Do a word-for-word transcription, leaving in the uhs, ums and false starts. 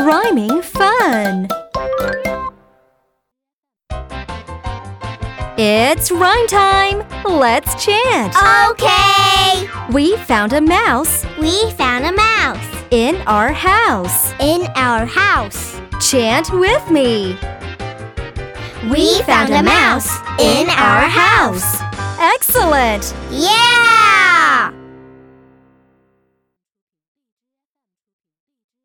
Rhyming fun! It's rhyme time! Let's chant! Okay! We found a mouse We found a mouse in our house. in our house. Chant with me! We found a mouse in our house. Excellent! Yeah!